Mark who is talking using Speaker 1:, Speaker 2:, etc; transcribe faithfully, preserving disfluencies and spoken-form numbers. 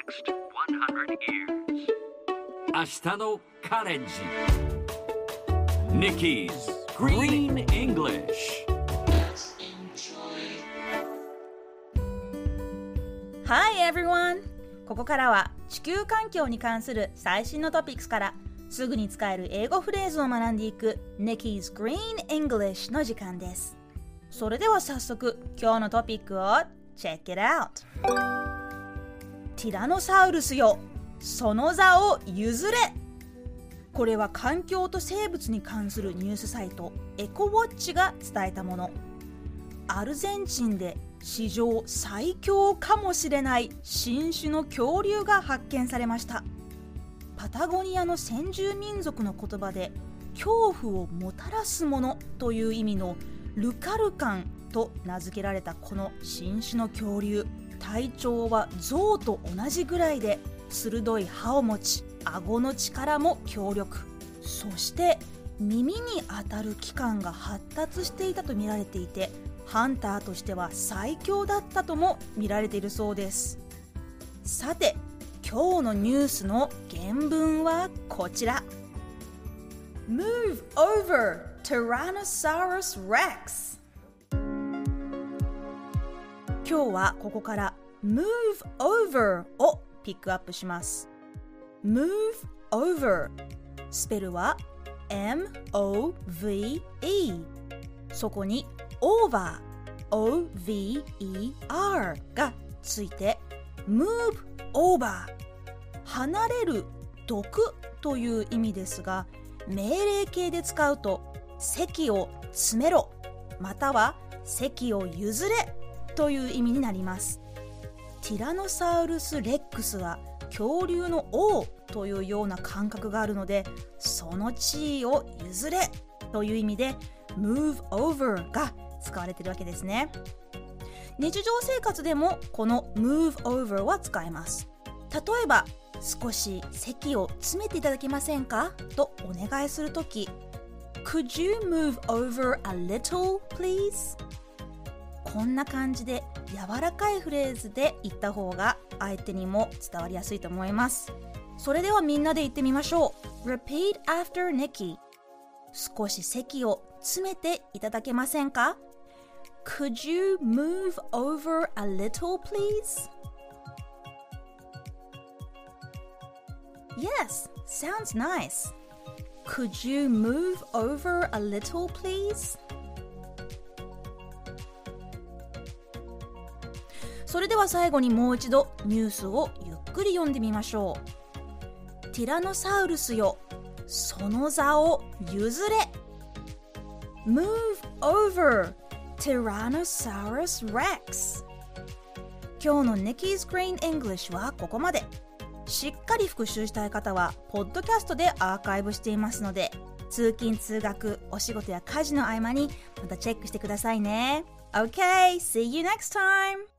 Speaker 1: next one hundred years.
Speaker 2: 明日のカレンジ Nikki's Green English。
Speaker 3: Hi everyone! ここからは地球環境に関する最新のトピックスからすぐに使える英語フレーズを学んでいく Nikki's Green English の時間です。それでは早速今日のトピックを Check it out! ティラノサウルスよ、その座を譲れ。これは環境と生物に関するニュースサイトエコウォッチが伝えたもの。アルゼンチンで史上最強かもしれない新種の恐竜が発見されました。パタゴニアの先住民族の言葉で恐怖をもたらすものという意味のルカルカンと名付けられたこの新種の恐竜、体長は象と同じぐらいで鋭い歯を持ち、顎の力も強力、そして耳に当たる器官が発達していたと見られていて、ハンターとしては最強だったとも見られているそうです。さて今日のニュースの原文はこちら。 Move over Tyrannosaurus Rex。 今日はここから Move over をピックアップします。 Move over スペルは エムオーブイイー、 そこに over オーブイイアール がついて Move over 離れる、どくという意味ですが、命令形で使うと席を詰めろまたは席を譲れという意味になります。ティラノサウルスレックスは恐竜の王というような感覚があるので、その地位を譲れという意味で move over が使われているわけですね。日常生活でもこの move over は使えます。例えば少し席を詰めていただけませんかとお願いするとき、 Could you move over a little please？ こんな感じで柔らかいフレーズで言った方が相手にも伝わりやすいと思います。それではみんなで言ってみましょう。 Repeat after Nikki。 少し席を詰めていただけませんか？ Could you move over a little please? Yes, sounds nice. Could you move over a little please? それでは最後にもう一度ニュースをゆっくり読んでみましょう。ティラノサウルスよ、その座を譲れ。 Move over Tyrannosaurus Rex。 今日の Nikki's Green English はここまで。しっかり復習したい方はポッドキャストでアーカイブしていますので、通勤通学、お仕事や家事の合間にまたチェックしてくださいね。 OK, see you next time!